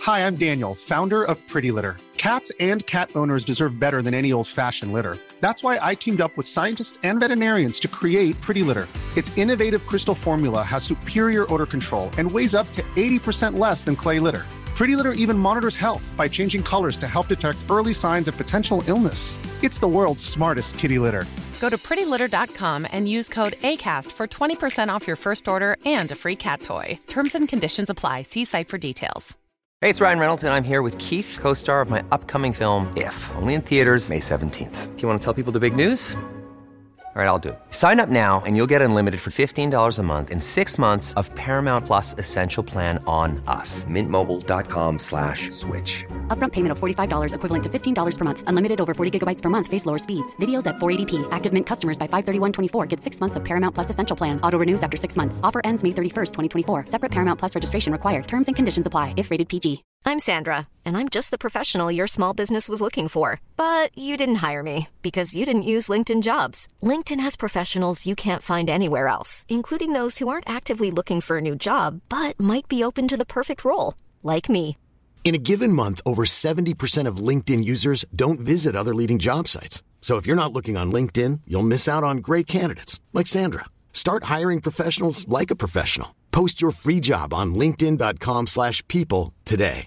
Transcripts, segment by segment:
Hi, I'm Daniel, founder of Pretty Litter. Cats and cat owners deserve better than any old-fashioned litter. That's why I teamed up with scientists and veterinarians to create Pretty Litter. Its innovative crystal formula has superior odor control and weighs up to 80% less than clay litter. Pretty Litter even monitors health by changing colors to help detect early signs of potential illness. It's the world's smartest kitty litter. Go to prettylitter.com and use code ACAST for 20% off your first order and a free cat toy. Terms and conditions apply. See site for details. Hey, it's Ryan Reynolds, and I'm here with Keith, co-star of my upcoming film, If, only in theaters May 17th. Do you want to tell people the big news? All right, I'll do it. Sign up now and you'll get unlimited for $15 a month and 6 months of Paramount Plus Essential Plan on us. Mintmobile.com/switch. Upfront payment of $45 equivalent to $15 per month. Unlimited over 40 gigabytes per month. Face lower speeds. Videos at 480p. Active Mint customers by 531.24 get 6 months of Paramount Plus Essential Plan. Auto renews after 6 months. Offer ends May 31st, 2024. Separate Paramount Plus registration required. Terms and conditions apply if rated PG. I'm Sandra, and I'm just the professional your small business was looking for. But you didn't hire me because you didn't use LinkedIn Jobs. LinkedIn has professionals you can't find anywhere else, including those who aren't actively looking for a new job, but might be open to the perfect role, like me. In a given month, over 70% of LinkedIn users don't visit other leading job sites. So if you're not looking on LinkedIn, you'll miss out on great candidates like Sandra. Start hiring professionals like a professional. Post your free job on linkedin.com/people today.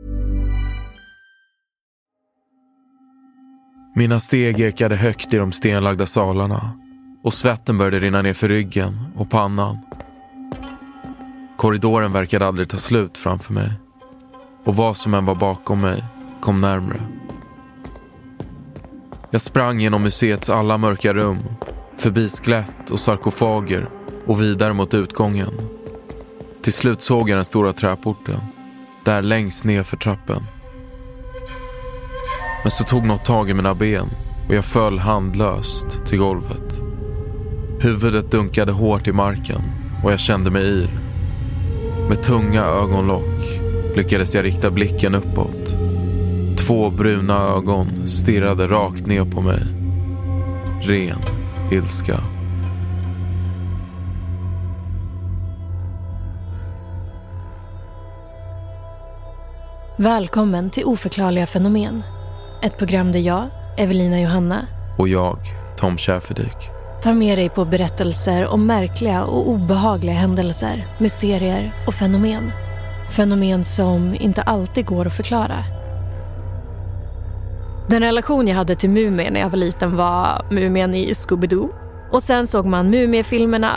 Mina steg ekade högt i de stenlagda salarna och svetten började rinna ner för ryggen och pannan. Korridoren verkade aldrig ta slut framför mig. Och vad som än var bakom mig kom närmare. Jag sprang genom museets alla mörka rum, förbi skelett och sarkofager och vidare mot utgången. Till slut såg jag den stora träporten, där längst ner för trappen. Men så tog något tag i mina ben och jag föll handlöst till golvet. Huvudet dunkade hårt i marken och jag kände mig yr. Med tunga ögonlock lyckades jag rikta blicken uppåt. 2 bruna ögon stirrade rakt ner på mig. Ren ilska. Välkommen till Oförklarliga fenomen. Ett program där jag, Evelina Johanna och jag, Tom Schäferdik, tar med dig på berättelser om märkliga och obehagliga händelser, mysterier och fenomen. Fenomen som inte alltid går att förklara. Den relation jag hade till Mumien när jag var liten var Mumien i Scooby-Doo. Och sen såg man Mumiefilmerna.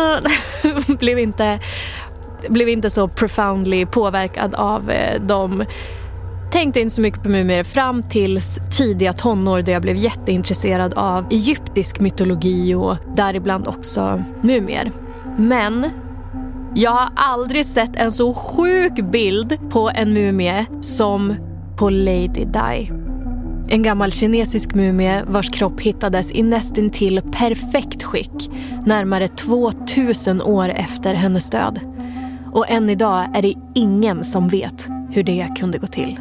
blev inte så profoundly påverkad av dem. Tänkte inte så mycket på mumier fram tills tidiga tonår där jag blev jätteintresserad av egyptisk mytologi och däribland också mumier. Men jag har aldrig sett en så sjuk bild på en mumie som på Lady Di. En gammal kinesisk mumie vars kropp hittades i nästintill perfekt skick närmare 2000 år efter hennes död. Och än idag är det ingen som vet hur det kunde gå till.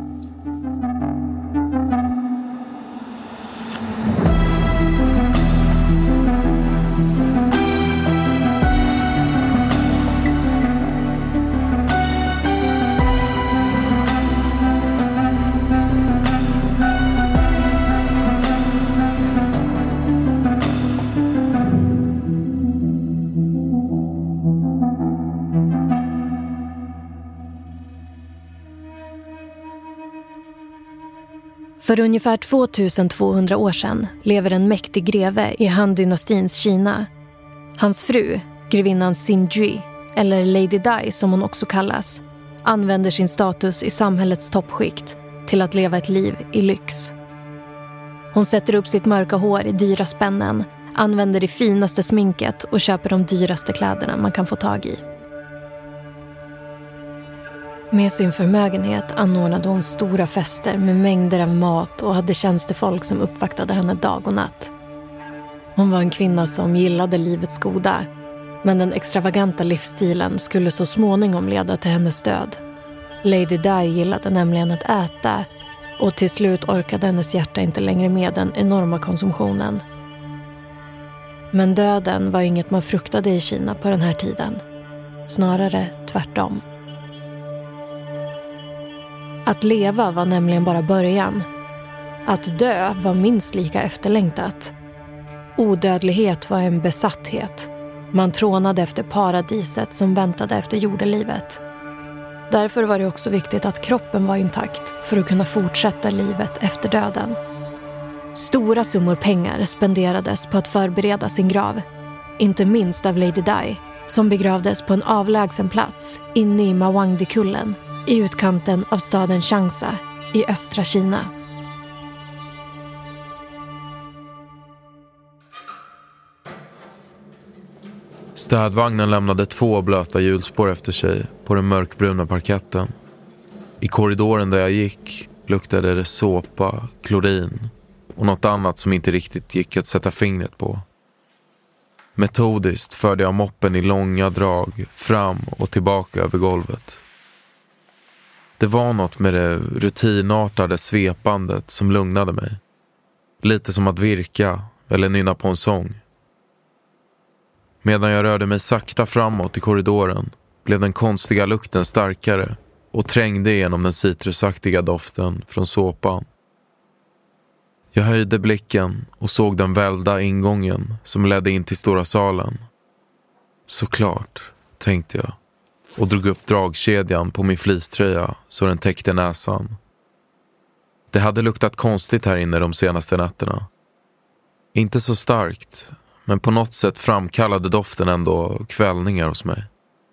För ungefär 2200 år sedan lever en mäktig greve i Han-dynastins Kina. Hans fru, grevinnan Xinjui, eller Lady Di som hon också kallas, använder sin status i samhällets toppskikt till att leva ett liv i lyx. Hon sätter upp sitt mörka hår i dyra spännen, använder det finaste sminket och köper de dyraste kläderna man kan få tag i. Med sin förmögenhet anordnade hon stora fester med mängder av mat och hade tjänstefolk som uppvaktade henne dag och natt. Hon var en kvinna som gillade livets goda, men den extravaganta livsstilen skulle så småningom leda till hennes död. Lady Di gillade nämligen att äta och till slut orkade hennes hjärta inte längre med den enorma konsumtionen. Men döden var inget man fruktade i Kina på den här tiden. Snarare tvärtom. Att leva var nämligen bara början. Att dö var minst lika efterlängtat. Odödlighet var en besatthet. Man trånade efter paradiset som väntade efter jordelivet. Därför var det också viktigt att kroppen var intakt för att kunna fortsätta livet efter döden. Stora summor pengar spenderades på att förbereda sin grav. Inte minst av Lady Di, som begravdes på en avlägsen plats inne i Mawangdikullen i utkanten av staden Changsha i östra Kina. Städvagnen lämnade 2 blöta hjulspår efter sig på den mörkbruna parketten. I korridoren där jag gick luktade det såpa, klorin och något annat som inte riktigt gick att sätta fingret på. Metodiskt förde jag moppen i långa drag fram och tillbaka över golvet. Det var något med det rutinartade svepandet som lugnade mig. Lite som att virka eller nynna på en sång. Medan jag rörde mig sakta framåt i korridoren blev den konstiga lukten starkare och trängde igenom den citrusaktiga doften från såpan. Jag höjde blicken och såg den välda ingången som ledde in till stora salen. Såklart, tänkte jag, och drog upp dragkedjan på min fleecetröja så den täckte näsan. Det hade luktat konstigt här inne de senaste nätterna. Inte så starkt, men på något sätt framkallade doften ändå kvällningar hos mig.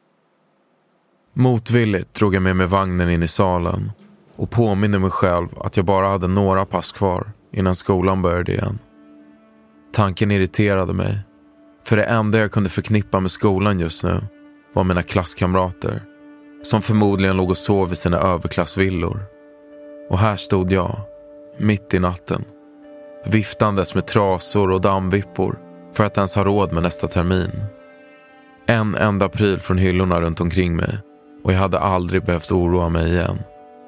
Motvilligt drog jag med mig vagnen in i salen och påminner mig själv att jag bara hade några pass kvar innan skolan började igen. Tanken irriterade mig, för det enda jag kunde förknippa med skolan just nu var mina klasskamrater, som förmodligen låg och sov i sina överklassvillor. Och här stod jag, mitt i natten, viftandes med trasor och dammvippor för att ens ha råd med nästa termin. En enda pryl från hyllorna runt omkring mig och jag hade aldrig behövt oroa mig igen.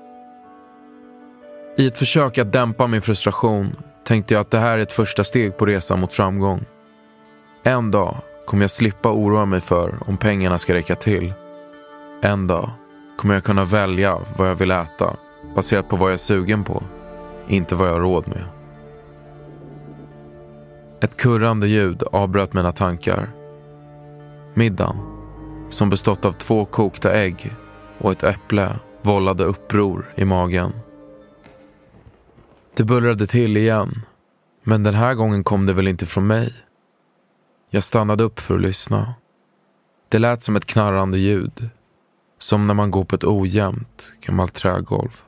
I ett försök att dämpa min frustration tänkte jag att det här är ett första steg på resan mot framgång. En dag kommer jag slippa oroa mig för om pengarna ska räcka till. En dag kommer jag kunna välja vad jag vill äta baserat på vad jag är sugen på, inte vad jag har råd med. Ett kurrande ljud avbröt mina tankar. Middagen, som bestått av 2 kokta ägg och ett äpple, vållade uppror i magen. Det bullrade till igen, men den här gången kom det väl inte från mig. Jag stannade upp för att lyssna. Det lät som ett knarrande ljud, som när man går på ett ojämnt gammalt trägolv.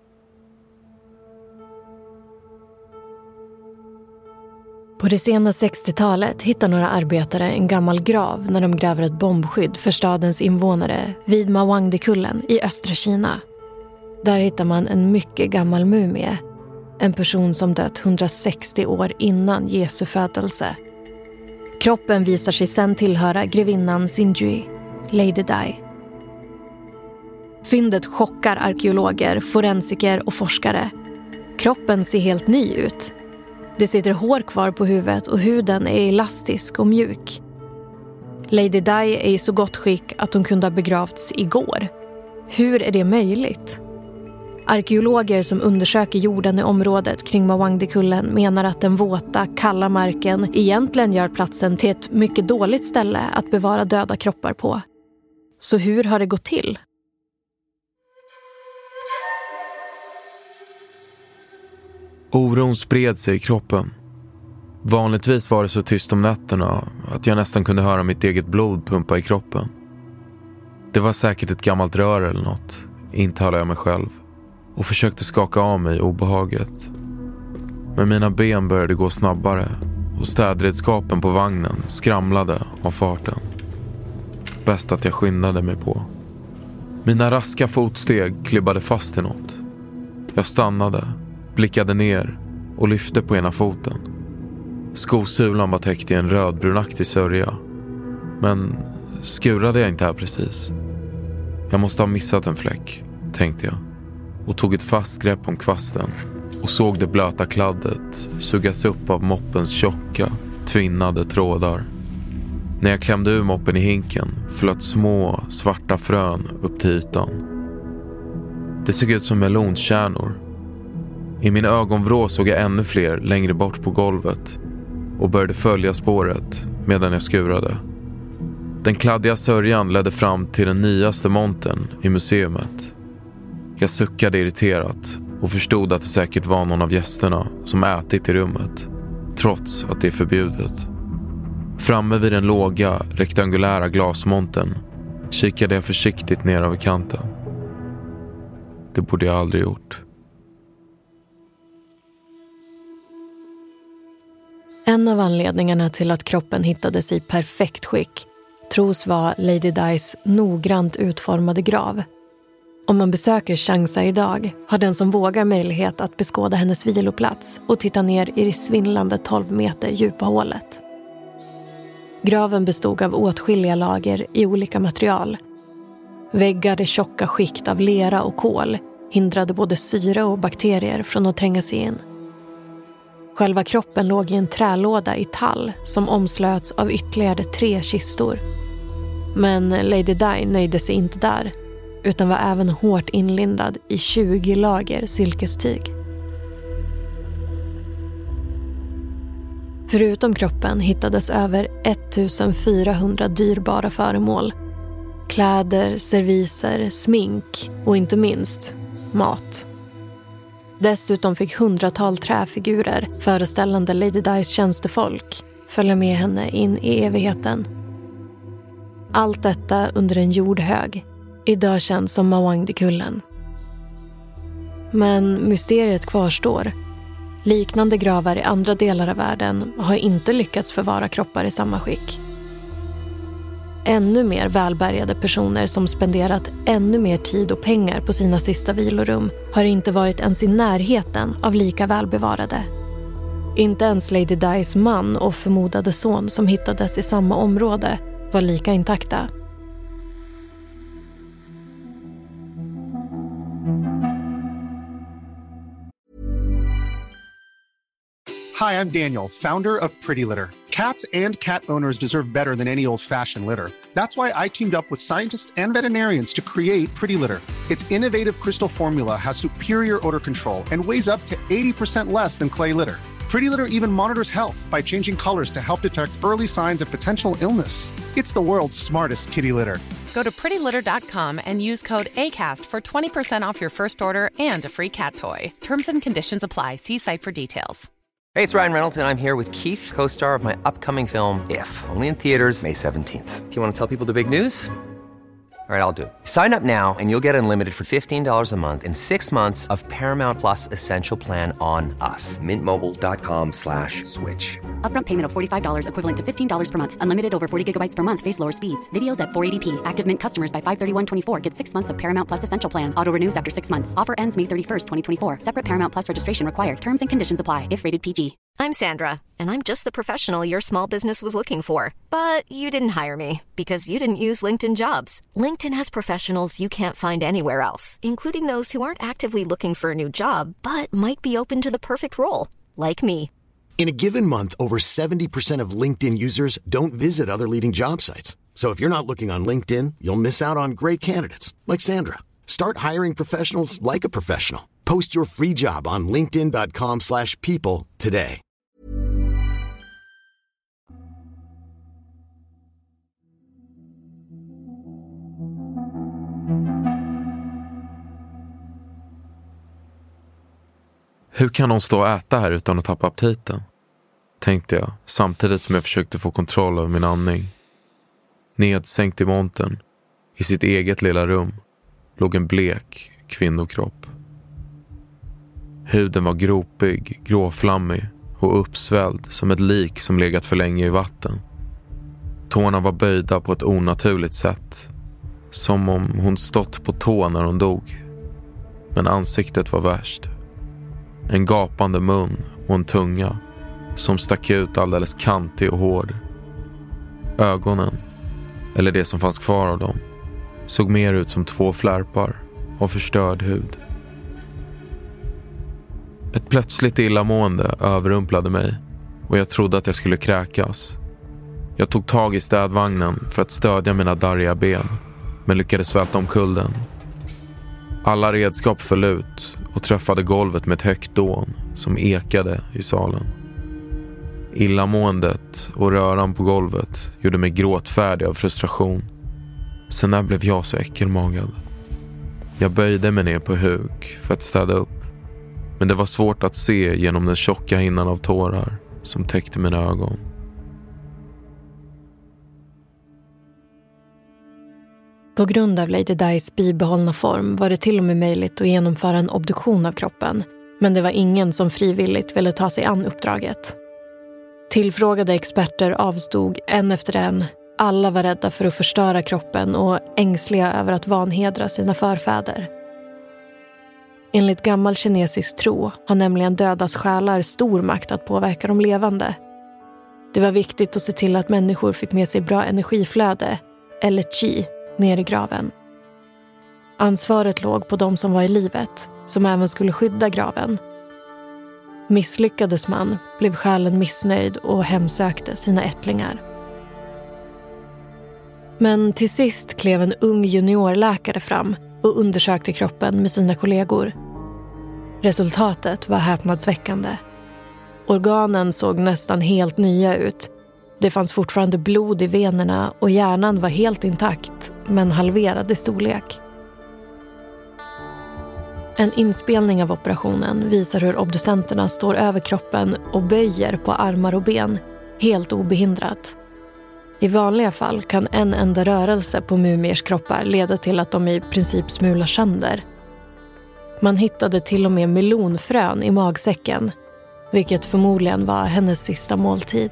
På det sena 60-talet hittar några arbetare en gammal grav när de gräver ett bombskydd för stadens invånare vid Mawangdikullen i östra Kina. Där hittar man en mycket gammal mumie. En person som dött 160 år innan Jesu födelse. Kroppen visar sig sedan tillhöra grevinnan Xinjue, Lady Di. Fyndet chockar arkeologer, forensiker och forskare. Kroppen ser helt ny ut. Det sitter hår kvar på huvudet och huden är elastisk och mjuk. Lady Di är i så gott skick att hon kunde ha begravts igår. Hur är det möjligt? Arkeologer som undersöker jorden i området kring Mawangdikullen menar att den våta, kalla marken egentligen gör platsen till ett mycket dåligt ställe att bevara döda kroppar på. Så hur har det gått till? Oron spred sig i kroppen. Vanligtvis var det så tyst om nätterna att jag nästan kunde höra mitt eget blod pumpa i kroppen. Det var säkert ett gammalt rör eller något, intalade jag mig själv, och försökte skaka av mig obehaget. Men mina ben började gå snabbare och städredskapen på vagnen skramlade av farten. Bäst att jag skyndade mig på. Mina raska fotsteg klibbade fast i något. Jag stannade, blickade ner och lyfte på ena foten. Skosulan var täckt i en rödbrunaktig sörja. Men skurade jag inte här precis? Jag måste ha missat en fläck, tänkte jag. Och tog ett fast grepp om kvasten och såg det blöta kladdet sugas upp av moppens tjocka, tvinnade trådar. När jag klämde ur moppen i hinken flöt små, svarta frön upp till ytan. Det såg ut som melonkärnor. I min ögonvrå såg jag ännu fler längre bort på golvet och började följa spåret medan jag skurade. Den kladdiga sörjan ledde fram till den nyaste montern i museumet. Jag suckade irriterat och förstod att det säkert var någon av gästerna som ätit i rummet, trots att det är förbjudet. Framme vid den låga, rektangulära glasmontern kikade jag försiktigt ner över kanten. Det borde jag aldrig gjort. En av anledningarna till att kroppen hittades i perfekt skick tros vara Lady Dis noggrant utformade grav. Om man besöker Changsa idag har den som vågar möjlighet att beskåda hennes viloplats och titta ner i det svindlande 12 meter djupa hålet. Graven bestod av åtskilliga lager i olika material. Väggar i tjocka skikt av lera och kol hindrade både syre och bakterier från att tränga sig in. Själva kroppen låg i en trälåda i tall som omslöts av ytterligare 3 kistor. Men Lady Di nöjde sig inte där, utan var även hårt inlindad i 20 lager silkestyg. Förutom kroppen hittades över 1400 dyrbara föremål. Kläder, serviser, smink och inte minst mat. Dessutom fick 100-tal träfigurer föreställande Lady Dis tjänstefolk följa med henne in i evigheten. Allt detta under en jordhög, idag känd som Mawangdekullen. Men mysteriet kvarstår. Liknande gravar i andra delar av världen har inte lyckats förvara kroppar i samma skick. Ännu mer välbärgade personer som spenderat ännu mer tid och pengar på sina sista vilorum har inte varit ens i närheten av lika välbevarade. Inte ens Lady Dis man och förmodade son som hittades i samma område var lika intakta. Hi, I'm Daniel, founder of Pretty Litter. Cats and cat owners deserve better than any old-fashioned litter. That's why I teamed up with scientists and veterinarians to create Pretty Litter. Its innovative crystal formula has superior odor control and weighs up to 80% less than clay litter. Pretty Litter even monitors health by changing colors to help detect early signs of potential illness. It's the world's smartest kitty litter. Go to prettylitter.com and use code ACAST for 20% off your first order and a free cat toy. Terms and conditions apply. See site for details. Hey, it's Ryan Reynolds, and I'm here with Keith, co-star of my upcoming film, If, only in theaters May 17th. Do you want to tell people the big news? All right, I'll do it. Sign up now and you'll get unlimited for $15 a month and 6 months of Paramount Plus Essential Plan on us. MintMobile.com/switch. Upfront payment of $45 equivalent to $15 per month. Unlimited over 40 gigabytes per month. Face lower speeds. Videos at 480p. Active Mint customers by 531.24 get 6 months of Paramount Plus Essential Plan. Auto renews after 6 months. Offer ends May 31st, 2024. Separate Paramount Plus registration required. Terms and conditions apply if rated PG. I'm Sandra, and I'm just the professional your small business was looking for. But you didn't hire me because you didn't use LinkedIn Jobs. LinkedIn has professionals you can't find anywhere else, including those who aren't actively looking for a new job, but might be open to the perfect role, like me. In a given month, over 70% of LinkedIn users don't visit other leading job sites. So if you're not looking on LinkedIn, you'll miss out on great candidates like Sandra. Start hiring professionals like a professional. Post your free job on linkedin.com/people today. Hur kan hon stå och äta här utan att tappa aptiten? Tänkte jag, samtidigt som jag försökte få kontroll över min andning. Nedsänkt i montern, i sitt eget lilla rum, låg en blek kvinnokropp. Huden var gropig, gråflammig och uppsvälld som ett lik som legat för länge i vatten. Tårna var böjda på ett onaturligt sätt, som om hon stått på tå när hon dog. Men ansiktet var värst. En gapande mun och en tunga som stack ut alldeles kantig och hård. Ögonen, eller det som fanns kvar av dem, såg mer ut som 2 flärpar av förstörd hud. Ett plötsligt illamående överrumplade mig och jag trodde att jag skulle kräkas. Jag tog tag i städvagnen för att stödja mina darriga ben, men lyckades välta omkull den. Alla redskap föll ut och träffade golvet med ett högt dån som ekade i salen. Illamåendet och röran på golvet gjorde mig gråtfärdig av frustration. Sen när blev jag så äckelmagad. Jag böjde mig ner på huk för att städa upp. Men det var svårt att se genom den tjocka hinnan av tårar som täckte mina ögon. På grund av Lady Dis bibehållna form var det till och med möjligt att genomföra en obduktion av kroppen. Men det var ingen som frivilligt ville ta sig an uppdraget. Tillfrågade experter avstod en efter en. Alla var rädda för att förstöra kroppen och ängsliga över att vanhedra sina förfäder. Enligt gammal kinesisk tro har nämligen dödas själar stor makt att påverka de levande. Det var viktigt att se till att människor fick med sig bra energiflöde, eller qi, ner i graven. Ansvaret låg på de som var i livet, som även skulle skydda graven. Misslyckades man blev själen missnöjd och hemsökte sina ättlingar. Men till sist klev en ung juniorläkare fram och undersökte kroppen med sina kollegor. Resultatet var häpnadsväckande. Organen såg nästan helt nya ut. Det fanns fortfarande blod i venerna och hjärnan var helt intakt, men halverad i storlek. En inspelning av operationen visar hur obducenterna står över kroppen och böjer på armar och ben, helt obehindrat. I vanliga fall kan en enda rörelse på mumiers kroppar leda till att de i princip smular sönder. Man hittade till och med melonfrön i magsäcken, vilket förmodligen var hennes sista måltid.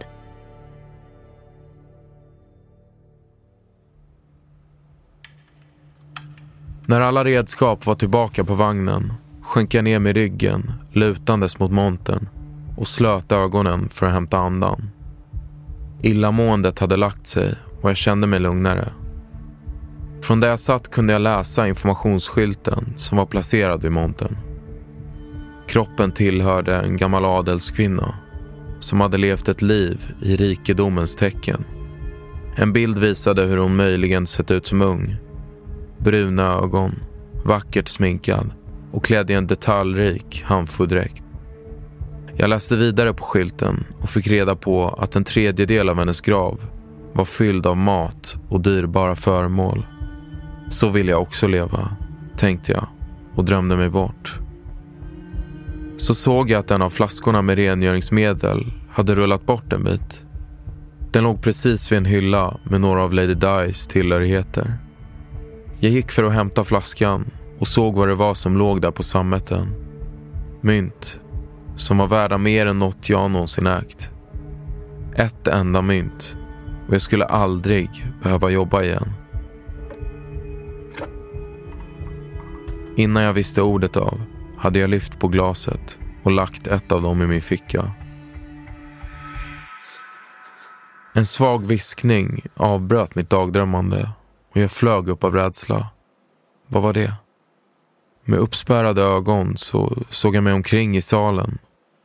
När alla redskap var tillbaka på vagnen sjönk jag ner med ryggen, lutandes mot montern och slöt ögonen för att hämta andan. Illamåendet hade lagt sig och jag kände mig lugnare. Från där jag satt kunde jag läsa informationsskylten som var placerad vid montern. Kroppen tillhörde en gammal adelskvinna som hade levt ett liv i rikedomens tecken. En bild visade hur hon möjligen sett ut som ung. Bruna ögon, vackert sminkad och klädd i en detaljrik handfodräkt. Jag läste vidare på skylten och fick reda på att en tredjedel av hennes grav var fylld av mat och dyrbara föremål. Så vill jag också leva, tänkte jag och drömde mig bort. Så såg jag att en av flaskorna med rengöringsmedel hade rullat bort en bit. Den låg precis vid en hylla med några av Lady Dis tillhörigheter. Jag gick för att hämta flaskan och såg vad det var som låg där på sammeten. Mynt som var värda mer än något jag någonsin ägt. Ett enda mynt och jag skulle aldrig behöva jobba igen. Innan jag visste ordet av hade jag lyft på glaset och lagt ett av dem i min ficka. En svag viskning avbröt mitt dagdrömmande och jag flög upp av rädsla. Vad var det? Med uppspärrade ögon så såg jag mig omkring i salen.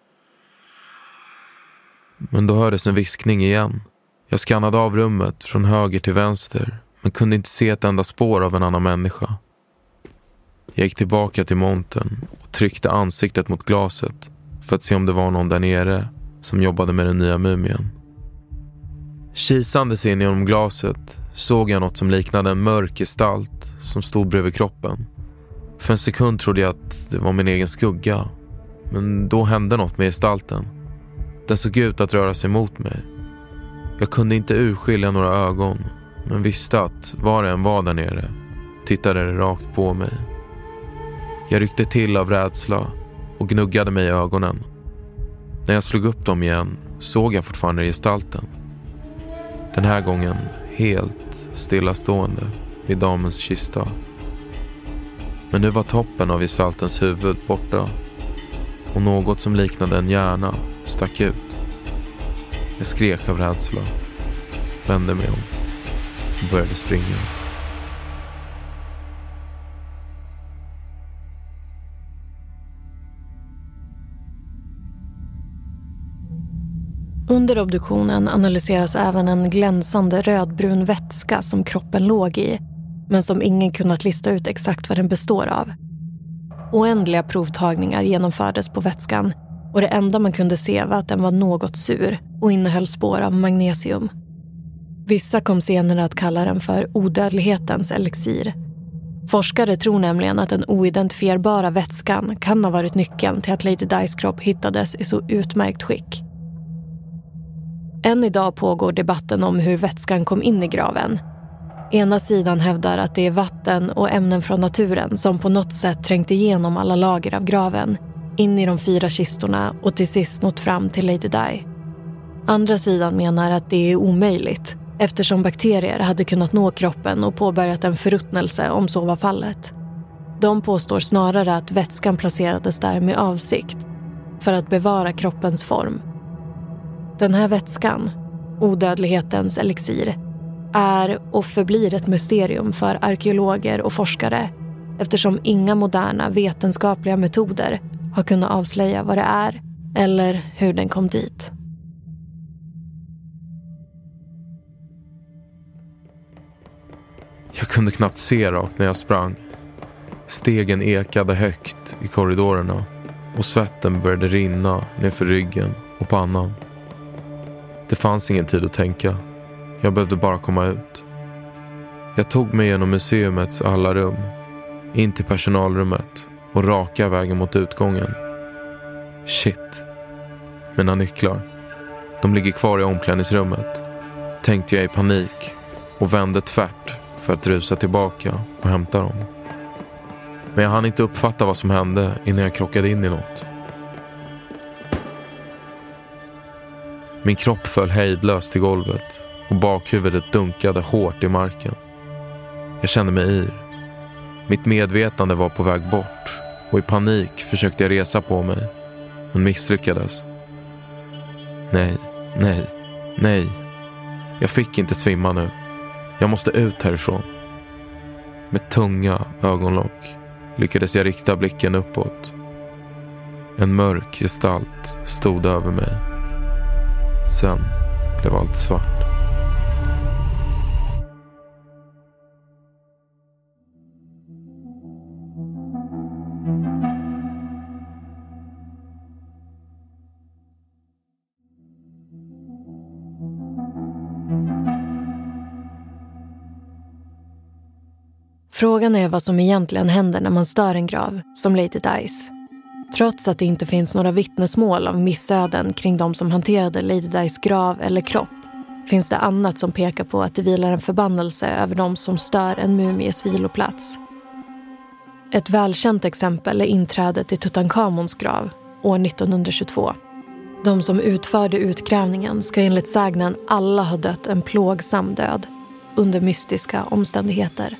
Men då hördes en viskning igen. Jag skannade av rummet från höger till vänster men kunde inte se ett enda spår av en annan människa. Jag gick tillbaka till montern och tryckte ansiktet mot glaset för att se om det var någon där nere som jobbade med den nya mumien. Kisandes in genom glaset såg jag något som liknade en mörk gestalt som stod bredvid kroppen. För en sekund trodde jag att det var min egen skugga, men då hände något med gestalten. Den såg ut att röra sig mot mig. Jag kunde inte urskilja några ögon, men visste att var det än var där nere tittade det rakt på mig. Jag ryckte till av rädsla och gnuggade mig i ögonen. När jag slog upp dem igen såg jag fortfarande gestalten. Den här gången helt stillastående vid damens kista. Men nu var toppen av gestaltens huvud borta och något som liknade en hjärna stack ut. Jag skrek av rädsla, vände mig om och började springa. Under obduktionen analyseras även en glänsande rödbrun vätska som kroppen låg i, men som ingen kunnat lista ut exakt vad den består av. Oändliga provtagningar genomfördes på vätskan och det enda man kunde se var att den var något sur och innehöll spår av magnesium. Vissa kom senare att kalla den för odödlighetens elixir. Forskare tror nämligen att den oidentifierbara vätskan kan ha varit nyckeln till att Lady Dis kropp hittades i så utmärkt skick. Än idag pågår debatten om hur vätskan kom in i graven. Ena sidan hävdar att det är vatten och ämnen från naturen som på något sätt trängt igenom alla lager av graven, in i de 4 kistorna och till sist nått fram till Lady Di. Andra sidan menar att det är omöjligt, eftersom bakterier hade kunnat nå kroppen och påbörjat en förruttnelse om så var fallet. De påstår snarare att vätskan placerades där med avsikt, för att bevara kroppens form. Den här vätskan, odödlighetens elixir, är och förblir ett mysterium för arkeologer och forskare, eftersom inga moderna vetenskapliga metoder har kunnat avslöja vad det är eller hur den kom dit. Jag kunde knappt se rakt när jag sprang. Stegen ekade högt i korridorerna och svetten började rinna nerför ryggen och pannan. Det fanns ingen tid att tänka. Jag behövde bara komma ut. Jag tog mig genom museumets alla rum, in till personalrummet och raka vägen mot utgången. Shit. Mina nycklar. De ligger kvar i omklädningsrummet, tänkte jag i panik och vände tvärt för att rusa tillbaka och hämta dem. Men jag hann inte uppfatta vad som hände innan jag krockade in i något. Min kropp föll hejdlöst till golvet och bakhuvudet dunkade hårt i marken. Jag kände mig yr. Mitt medvetande var på väg bort och i panik försökte jag resa på mig, men misslyckades. Nej. Jag fick inte svimma nu. Jag måste ut härifrån. Med tunga ögonlock lyckades jag rikta blicken uppåt. En mörk gestalt stod över mig. Sen blev allt svart. Frågan är vad som egentligen händer när man stör en grav, som Lady Dis. Trots att det inte finns några vittnesmål av missöden kring de som hanterade Lady Dis grav eller kropp, finns det annat som pekar på att det vilar en förbannelse över de som stör en mumies viloplats. Ett välkänt exempel är inträdet i Tutankhamons grav år 1922. De som utförde utgrävningen ska enligt sägnen alla ha dött en plågsam död under mystiska omständigheter.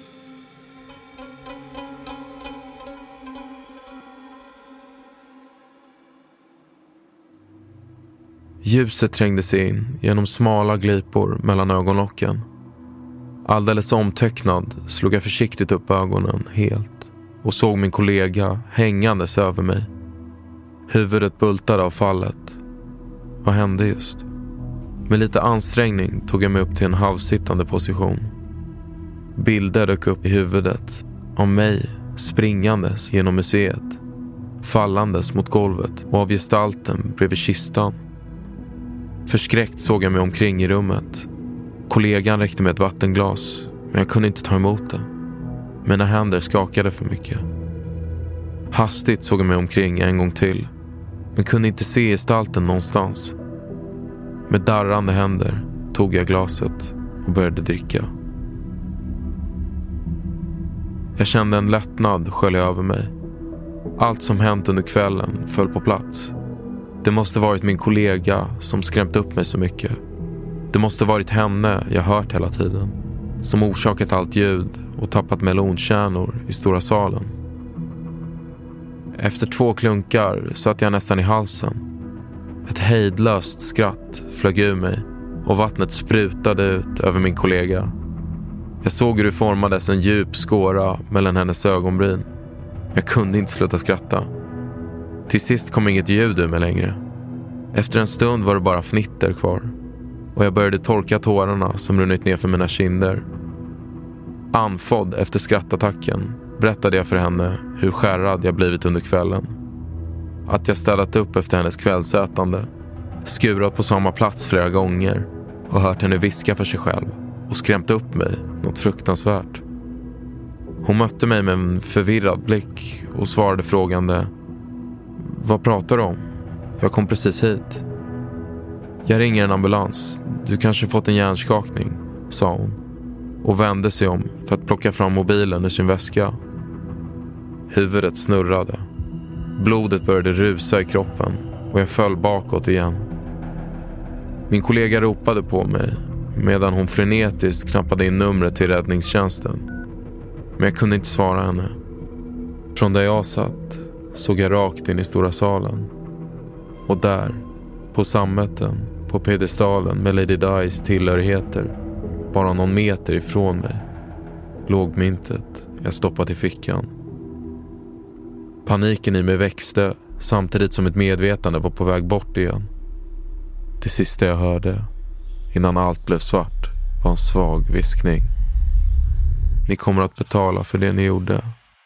Ljuset trängde sig in genom smala glipor mellan ögonlocken. Alldeles omtöcknad slog jag försiktigt upp ögonen helt och såg min kollega hängandes över mig. Huvudet bultade av fallet. Vad hände just? Med lite ansträngning tog jag mig upp till en halvsittande position. Bilder dök upp i huvudet av mig springandes genom museet, fallandes mot golvet och av gestalten bredvid kistan. Förskräckt såg jag mig omkring i rummet. Kollegan räckte med ett vattenglas, men jag kunde inte ta emot det. Mina händer skakade för mycket. Hastigt såg jag mig omkring en gång till, men kunde inte se gestalten någonstans. Med darrande händer tog jag glaset och började dricka. Jag kände en lättnad skölja över mig. Allt som hänt under kvällen föll på plats. Det måste varit min kollega som skrämt upp mig så mycket. Det måste varit henne jag hört hela tiden, som orsakat allt ljud och tappat melonkärnor i stora salen. Efter 2 klunkar satt jag nästan i halsen. Ett hejdlöst skratt flög ur mig och vattnet sprutade ut över min kollega. Jag såg hur det formades en djup skåra mellan hennes ögonbryn. Jag kunde inte sluta skratta. Till sist kom inget ljud ur mig längre. Efter en stund var det bara fnitter kvar. Och jag började torka tårarna som runnit ner för mina kinder. Anfodd efter skrattattacken berättade jag för henne hur skärrad jag blivit under kvällen. Att jag städat upp efter hennes kvällsätande, skurat på samma plats flera gånger och hört henne viska för sig själv och skrämt upp mig något fruktansvärt. Hon mötte mig med en förvirrad blick och svarade frågande: "Vad pratar du om? Jag kom precis hit." "Jag ringer en ambulans. Du kanske fått en hjärnskakning", sa hon och vände sig om för att plocka fram mobilen ur sin väska. Huvudet snurrade. Blodet började rusa i kroppen och jag föll bakåt igen. Min kollega ropade på mig medan hon frenetiskt knappade in numret till räddningstjänsten. Men jag kunde inte svara henne. Från där jag satt såg jag rakt in i stora salen. Och där, på sammeten, på pedestalen med Lady Di's tillhörigheter, bara någon meter ifrån mig, låg myntet jag stoppat i fickan. Paniken i mig växte samtidigt som ett medvetande var på väg bort igen. Det sista jag hörde, innan allt blev svart, var en svag viskning: "Ni kommer att betala för det ni gjorde."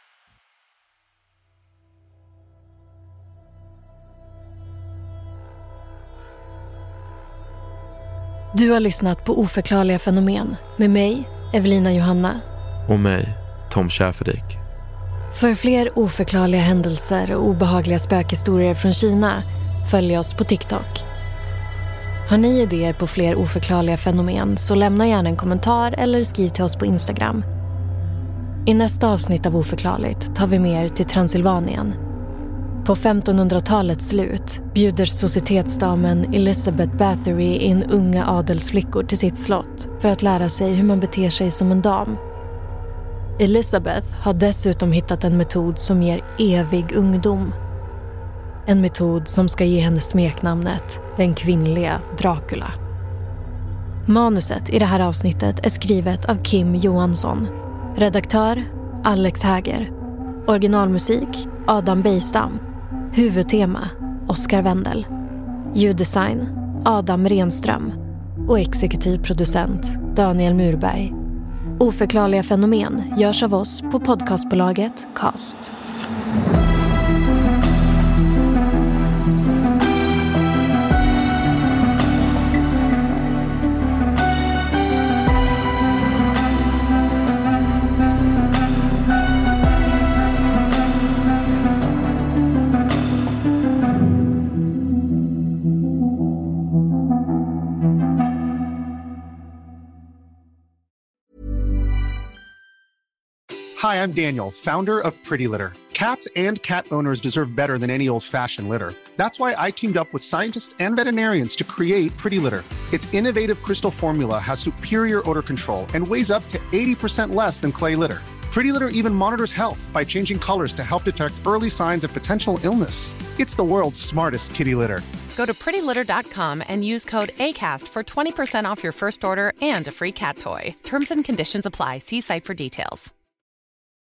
Du har lyssnat på Oförklarliga fenomen med mig, Evelina Johanna. Och mig, Tom Schäferdik. För fler oförklarliga händelser och obehagliga spökhistorier från Kina, följ oss på TikTok. Har ni idéer på fler oförklarliga fenomen så lämna gärna en kommentar eller skriv till oss på Instagram. I nästa avsnitt av Oförklarligt tar vi med er till Transylvanien. På 1500-talets slut bjuder societetsdamen Elizabeth Bathory in unga adelsflickor till sitt slott för att lära sig hur man beter sig som en dam. Elizabeth har dessutom hittat en metod som ger evig ungdom. En metod som ska ge henne smeknamnet den kvinnliga Dracula. Manuset i det här avsnittet är skrivet av Kim Johansson. Redaktör Alex Häger. Originalmusik Adam Bejstam. Huvudtema Oskar Wendel. Ljuddesign Adam Renström. Och exekutiv producent Daniel Murberg. Oförklarliga fenomen görs av oss på podcastbolaget Cast. Hi, I'm Daniel, founder of Pretty Litter. Cats and cat owners deserve better than any old-fashioned litter. That's why I teamed up with scientists and veterinarians to create Pretty Litter. Its innovative crystal formula has superior odor control and weighs up to 80% less than clay litter. Pretty Litter even monitors health by changing colors to help detect early signs of potential illness. It's the world's smartest kitty litter. Go to prettylitter.com and use code ACAST for 20% off your first order and a free cat toy. Terms and conditions apply. See site for details.